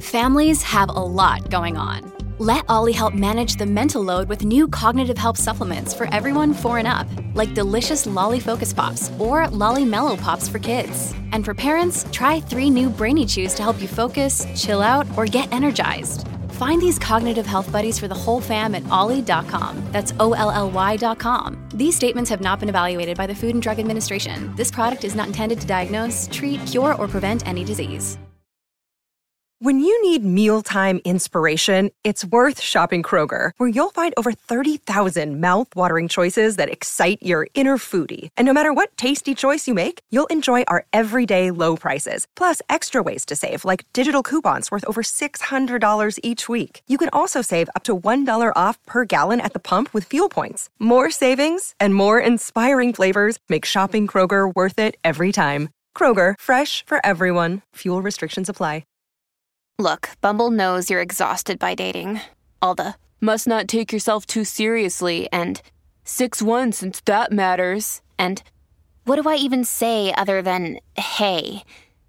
Families have a lot going on. Let Ollie help manage the mental load with new cognitive help supplements for everyone 4 and up, like delicious Lolly Focus Pops or Lolly Mellow Pops for kids. And for parents, try 3 new Brainy Chews to help you focus, chill out, or get energized. Find these cognitive health buddies for the whole fam at ollie.com. That's OLLY.com. These statements have not been evaluated by the Food and Drug Administration. This product is not intended to diagnose, treat, cure, or prevent any disease. When you need mealtime inspiration, it's worth shopping Kroger, where you'll find over 30,000 mouth-watering choices that excite your inner foodie. And no matter what tasty choice you make, you'll enjoy our everyday low prices, plus extra ways to save, like digital coupons worth over $600 each week. You can also save up to $1 off per gallon at the pump with fuel points. More savings and more inspiring flavors make shopping Kroger worth it every time. Kroger, fresh for everyone. Fuel restrictions apply. Look, Bumble knows you're exhausted by dating. All the, must not take yourself too seriously, and 6'1" since that matters, and what do I even say other than, hey?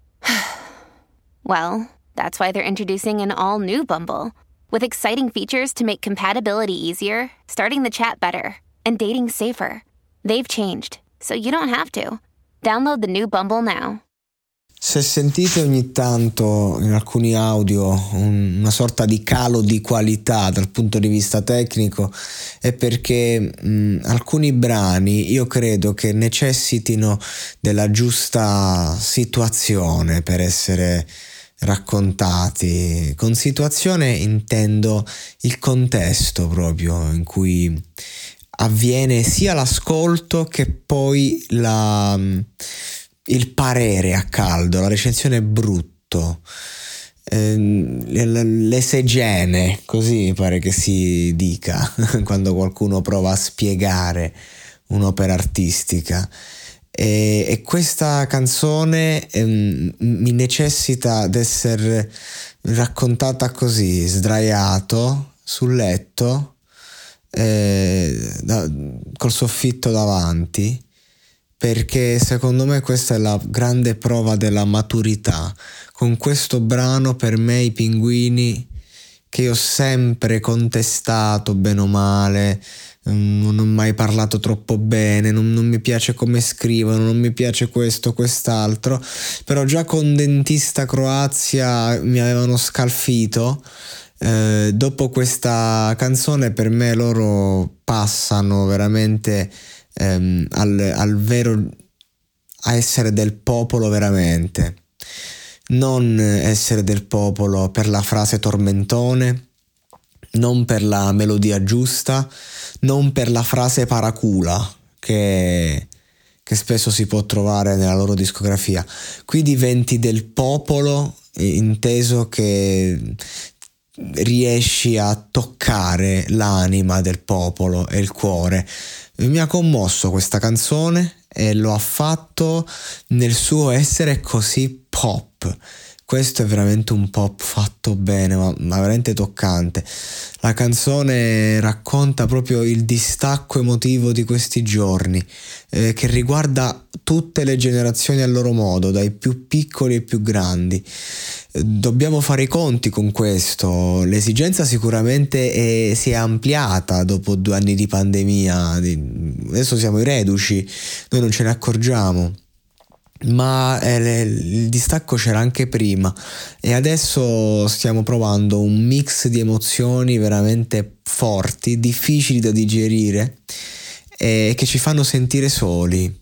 Well, that's why they're introducing an all-new Bumble, with exciting features to make compatibility easier, starting the chat better, and dating safer. They've changed, so you don't have to. Download the new Bumble now. Se sentite ogni tanto in alcuni audio una sorta di calo di qualità dal punto di vista tecnico, è perché alcuni brani io credo che necessitino della giusta situazione per essere raccontati. Con situazione intendo il contesto proprio in cui avviene sia l'ascolto che poi il parere a caldo, la recensione brutto, l'esegene, così pare che si dica quando qualcuno prova a spiegare un'opera artistica. E questa canzone mi necessita d'essere raccontata così, sdraiato sul letto, col soffitto davanti, perché secondo me questa è la grande prova della maturità. Con questo brano, per me, i Pinguini, che io ho sempre contestato bene o male, non ho mai parlato troppo bene, non mi piace come scrivono, non mi piace questo, quest'altro, però già con Dentista Croazia mi avevano scalfito. Dopo questa canzone per me loro passano veramente al vero, a essere del popolo veramente, non essere del popolo per la frase tormentone, non per la melodia giusta, non per la frase paracula che spesso si può trovare nella loro discografia. Qui diventi del popolo, inteso che riesci a toccare l'anima del popolo e il cuore. Mi ha commosso questa canzone e lo ha fatto nel suo essere così pop. Questo è veramente un pop fatto bene, ma veramente toccante. La canzone racconta proprio il distacco emotivo di questi giorni, che riguarda tutte le generazioni a loro modo, dai più piccoli ai più grandi. Dobbiamo fare i conti con questo. L'esigenza sicuramente si è ampliata dopo 2 anni di pandemia. Adesso siamo i reduci, noi non ce ne accorgiamo. Ma il distacco c'era anche prima e adesso stiamo provando un mix di emozioni veramente forti, difficili da digerire e che ci fanno sentire soli.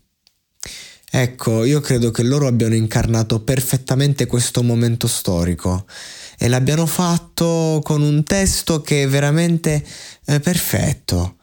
Ecco, io credo che loro abbiano incarnato perfettamente questo momento storico e l'abbiano fatto con un testo che è veramente perfetto,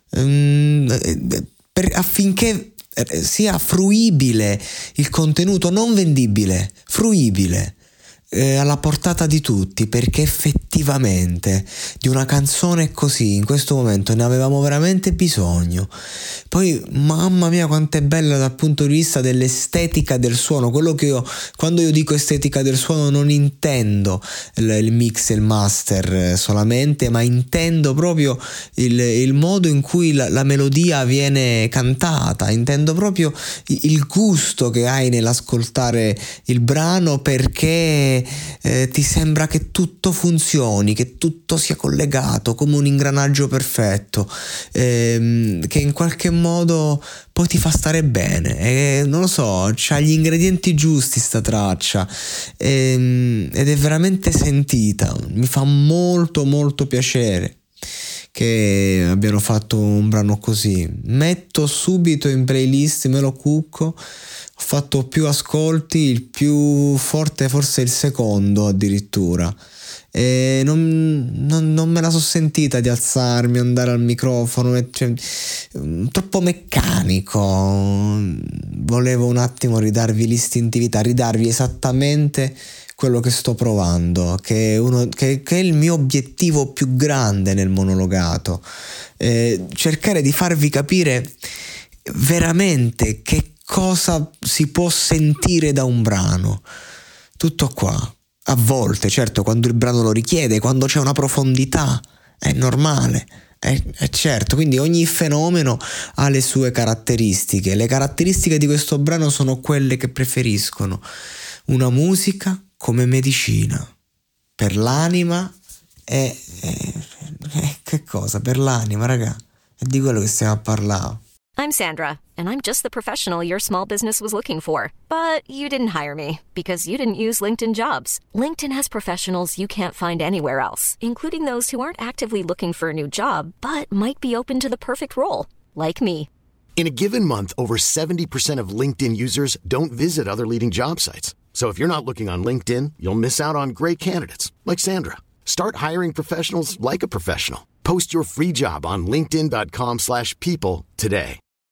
affinché sia fruibile il contenuto, non vendibile, fruibile, alla portata di tutti, perché effettivamente di una canzone così in questo momento ne avevamo veramente bisogno. Poi mamma mia quanto è bella dal punto di vista dell'estetica del suono. Quello che quando io dico estetica del suono non intendo il mix e il master solamente, ma intendo proprio il modo in cui la melodia viene cantata, intendo proprio il gusto che hai nell'ascoltare il brano, perché che ti sembra che tutto funzioni, che tutto sia collegato come un ingranaggio perfetto, che in qualche modo poi ti fa stare bene, e non lo so, c'ha gli ingredienti giusti sta traccia, ed è veramente sentita, mi fa molto molto piacere che abbiano fatto un brano così. Metto subito in playlist, me lo cucco, ho fatto più ascolti, il più forte forse il secondo addirittura, e non me la so sentita di alzarmi, andare al microfono, cioè, troppo meccanico. Volevo un attimo ridarvi l'istintività, ridarvi esattamente quello che sto provando, che è il mio obiettivo più grande nel monologato, cercare di farvi capire veramente che cosa si può sentire da un brano. Tutto qua. A volte, certo, quando il brano lo richiede, quando c'è una profondità, è normale, è certo. Quindi ogni fenomeno ha le sue caratteristiche. Le caratteristiche di questo brano sono quelle che preferiscono: una musica come medicina per l'anima, e che cosa? Per l'anima, raga, è di quello che stiamo a parlare. I'm Sandra, and I'm just the professional your small business was looking for. But you didn't hire me because you didn't use LinkedIn Jobs. LinkedIn has professionals you can't find anywhere else, including those who aren't actively looking for a new job, but might be open to the perfect role, like me. In a given month, over 70% of LinkedIn users don't visit other leading job sites. So if you're not looking on LinkedIn, you'll miss out on great candidates like Sandra. Start hiring professionals like a professional. Post your free job on linkedin.com/people today.